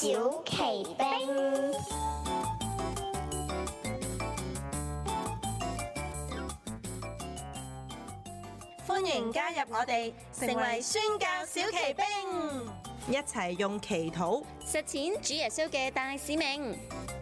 小奇兵， 歡迎加入我哋，成為宣教小奇兵，一齊用祈禱實踐主耶穌嘅大使命。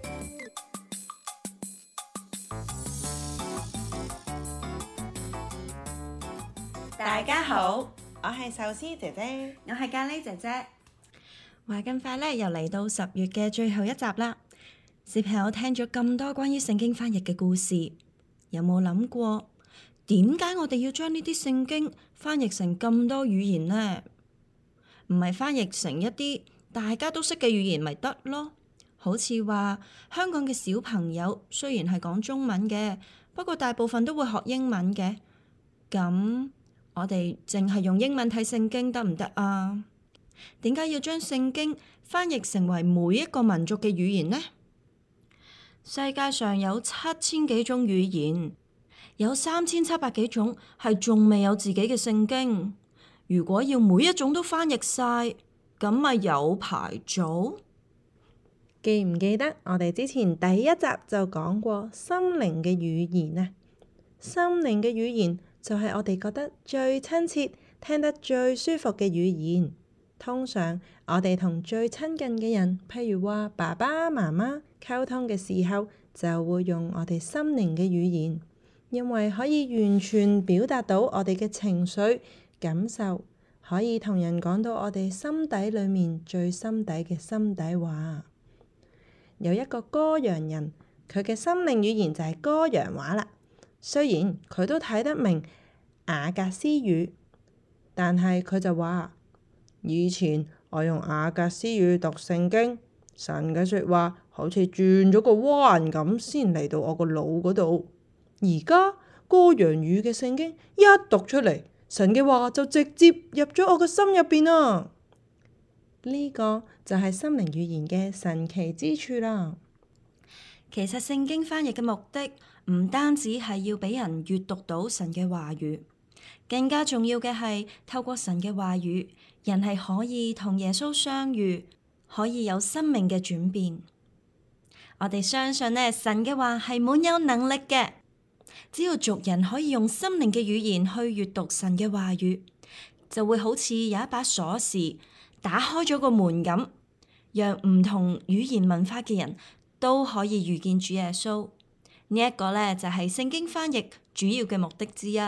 大家好，我係壽司姐姐， 我係咖喱姐姐。 話咁快咧，又嚟到10月嘅最後一集啦。小朋友聽咗咁多關於聖經翻譯嘅故事，有冇諗過點解我哋要將呢啲聖經翻譯成咁多語言呢？唔係翻譯成一啲大家都識嘅語言咪得咯？好似話香港嘅小朋友雖然係講中文嘅，不過大部分都會學英文嘅。咁我哋淨係用英文睇聖經得唔得啊？點解要將聖經翻譯成為每一個民族嘅語言呢？世界上有7000幾種語言，有3700幾種係仲未有自己嘅聖經。如果要每一種都翻譯晒，咁咪有排做？ 記唔記得我哋之前第一集就講過心靈嘅語言啊？心靈嘅語言就係我哋覺得最親切、聽得最舒服嘅語言。通常我哋同最親近嘅人，譬如話爸爸媽媽溝通嘅時候，就會用我哋心靈嘅語言，因為可以完全表達到我哋嘅情緒感受，可以同人講到我哋心底裡面最心底嘅心底話。有一個歌陽人，佢嘅心靈語言就係歌陽話啦。雖然佢都睇得明雅各斯語，但係佢就話：以前我用雅各斯語讀聖經，神嘅說話好似轉咗個彎咁，先嚟到我個腦嗰度。而家歌陽語嘅聖經一讀出嚟，神嘅話就直接入咗我個心入邊啊！呢個就係心靈語言嘅神奇之處啦。 其實聖經翻譯嘅目的唔單止係要俾人閱讀到神嘅話語，更加重要嘅係透過神嘅話語，人係可以同耶穌相遇，可以有生命嘅轉變。我哋相信呢，神嘅話係滿有能力嘅，只要族人可以用心靈嘅語言去閱讀神嘅話語，就會好似有一把鎖匙打開咗個門咁，讓唔同語言文化嘅人都可以遇見主耶穌。呢一個呢，就係聖經翻譯主要嘅目的之一。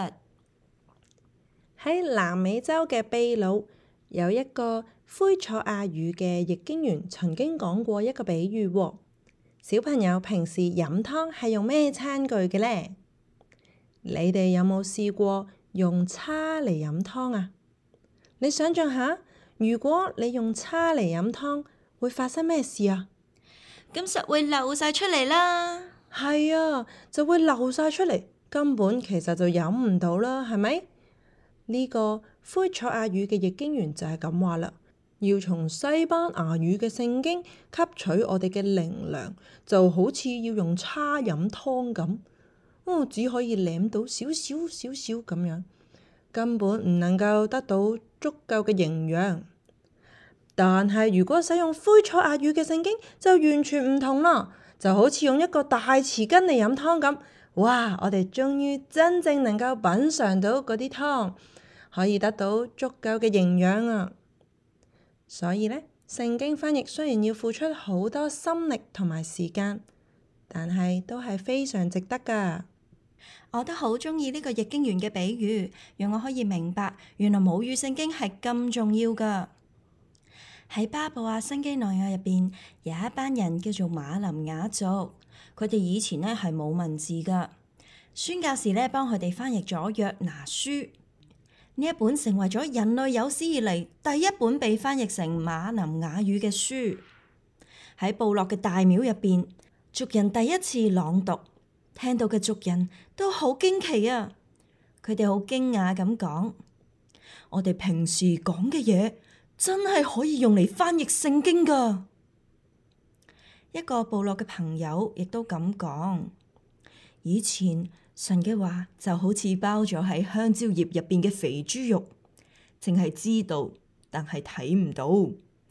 喺南美洲嘅秘魯有一個灰楚亞語嘅譯經員曾經講過一個比喻喎。小朋友平時飲湯係用咩餐具嘅呢？你哋有冇試過用叉嚟飲湯啊？你想象下，如果你用叉嚟飲湯，會發生咩事啊？ 咁實會流晒出嚟啦。 係啊，就會流晒出嚟，根本其實就飲唔到啦，係咪？呢個灰楚亞語嘅譯經員就係咁話啦，要從西班牙語嘅聖經吸取我哋嘅靈糧，就好似要用叉飲湯咁，只可以舐到少少咁樣，根本唔能夠得到足夠嘅營養。但係如果使用灰楚亞語嘅聖經就完全唔同啦，就好似用一個大匙羹嚟飲湯咁。哇！我哋終於真正能夠品嚐到嗰啲湯，可以得到足夠嘅營養啊！所以呢，聖經翻譯雖然要付出好多心力同埋時間，但係都係非常值得㗎。 我都好鍾意呢個譯經員嘅比喻，讓我可以明白原來母語聖經係咁重要㗎。喺巴布亞新幾內亞入邊有一班人叫做馬林雅族，佢哋以前呢係冇文字㗎，宣教士呢幫佢哋翻譯咗約拿書，呢一本成為咗人類有史以嚟第一本被翻譯成馬林雅語嘅書。喺部落嘅大廟入邊，族人第一次朗讀，聽到嘅族人都好驚奇啊！佢哋好驚訝咁講：我哋平時講嘅嘢，真係可以用嚟翻譯聖經㗎。一個部落嘅朋友亦都咁講：以前神嘅話就好似包咗喺香蕉葉入邊嘅肥豬肉，淨係知道，但係睇唔到。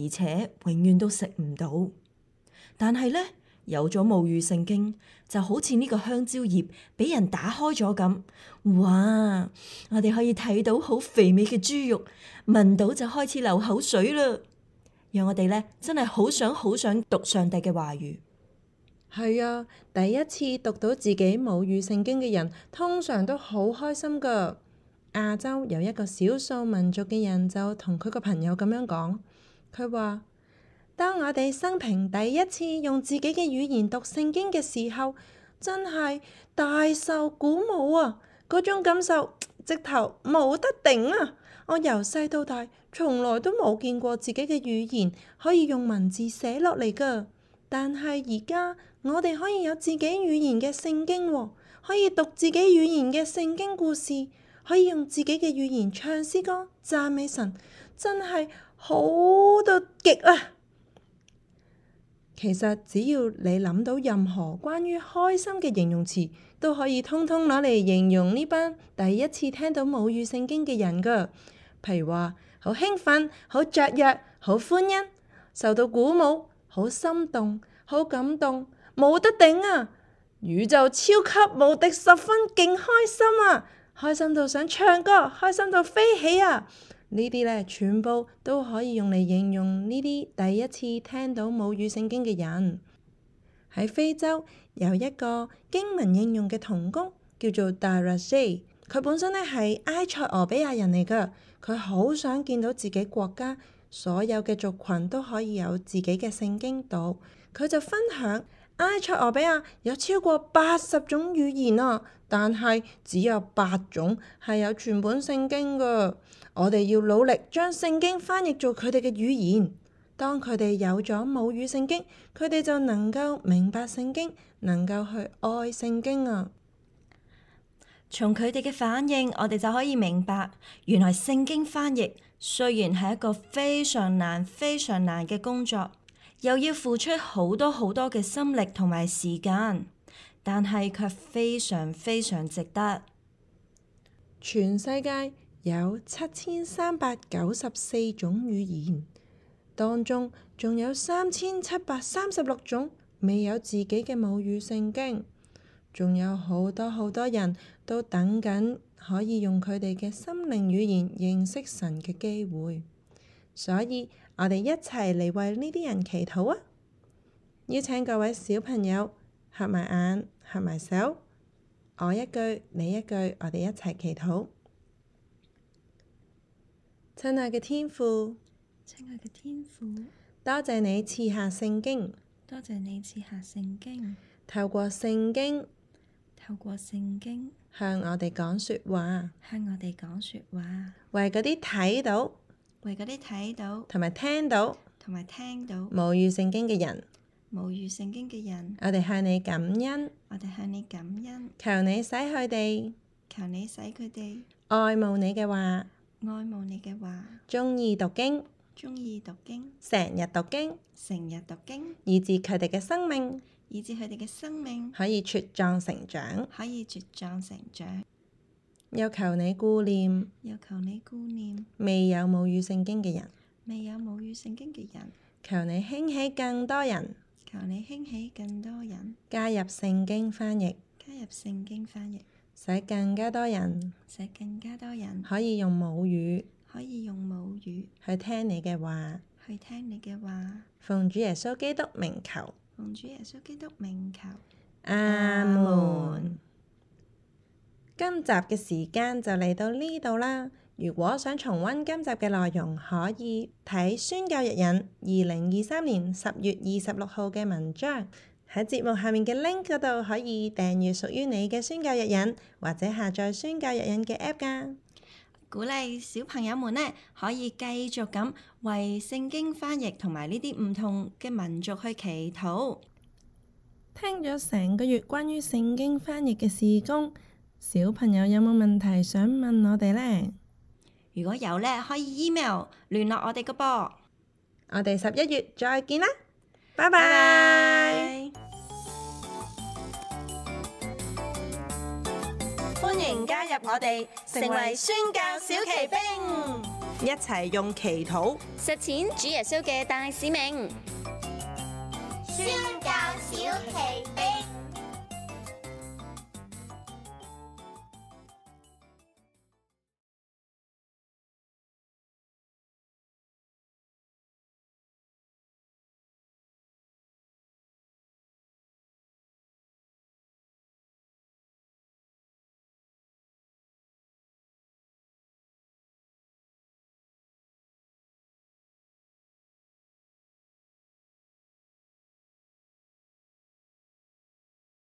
而且永遠都食唔到。但係呢，有咗母語聖經，就好似呢個香蕉葉俾人打開咗咁，哇！我哋可以睇到好肥美嘅豬肉，聞到就開始流口水啦。讓我哋呢真係好想讀上帝嘅話語。 係啊，第一次讀到自己母語聖經嘅人，通常都好開心噶。亞洲有一個少數民族嘅人就同佢個朋友咁樣講，佢話：當我哋生平第一次用自己嘅語言讀聖經嘅時候，真係大受鼓舞啊！嗰種感受直頭冇得頂啊！我由細到大，從來都冇見過自己嘅語言可以用文字寫落嚟噶。但係而家我哋可以有自己語言嘅聖經喎，可以讀自己語言嘅聖經故事，可以用自己嘅語言唱詩歌讚美神，真係好到極啊！其實只要你諗到任何關於開心嘅形容詞，都可以通通攞嚟形容呢班第一次聽到母語聖經嘅人噶。譬如話好興奮、好雀躍、好歡欣、受到鼓舞、好心動、好感動、冇得頂啊！宇宙超級無敵十分勁開心啊！開心到想唱歌，開心到飛起啊！呢啲咧全部都可以用嚟形容呢啲第一次聽到母語聖經嘅人。喺非洲有一個經文應用嘅同工叫做 Darashe， 佢本身咧係埃塞俄比亞人嚟噶。佢好想見到自己國家所有嘅族群都可以有自己嘅聖經讀。佢就分享埃塞俄比亞有超過80種語言啊，但係只有8種係有全本聖經噶。我哋要努力將聖經翻譯做佢哋嘅語言。當佢哋有咗母語聖經，佢哋就能夠明白聖經，能夠去愛聖經啊。 從佢哋嘅反應，我哋就可以明白，原來聖經翻譯雖然係一個非常難嘅工作，又要付出好多嘅心力同埋時間，但係卻非常值得。 全世界有7394種語言，當中仲有3736種未有自己嘅母語聖經，仲有好多人都等緊可以用佢哋嘅心靈語言認識神嘅機會，所以我哋一齊嚟為呢啲人祈禱啊！邀請各位小朋友合埋眼、合埋手，我一句你一句，我哋一齊祈禱。親愛嘅天父，多謝你賜下聖經，透過聖經向我哋講說話，為嗰啲睇到同埋聽到母語聖經嘅人，我哋向你感恩，求你使佢哋愛慕你嘅話，鍾意讀經，成日讀經，以致佢哋嘅生命可以茁壯成長，又求你顧念未有母語聖經嘅人，求你興起更多人加入聖經翻譯，使更加多人可以用母語去聽你嘅話，奉主耶穌基督名求，阿門。今集嘅時間就嚟到呢度啦。如果想重溫今集嘅內容，可以睇宣教日引2023年10月26號嘅文章。喺節目下面嘅 link 嗰度可以訂閱屬於你嘅宣教日引，或者下載宣教日引嘅 app 㗎。 鼓勵小朋友們呢，可以繼續咁為聖經翻譯同埋呢啲唔同嘅民族去祈禱。 聽咗成個月關於聖經翻譯嘅事工，小朋友有冇問題想問我哋呢？ 如果有呢，可以 email 聯絡我哋個噃。 我哋11月再見啦，拜拜！ 歡迎加入我哋，成為宣教小騎兵。 一齊用祈禱實踐主耶穌嘅大使命。 宣教小奇兵。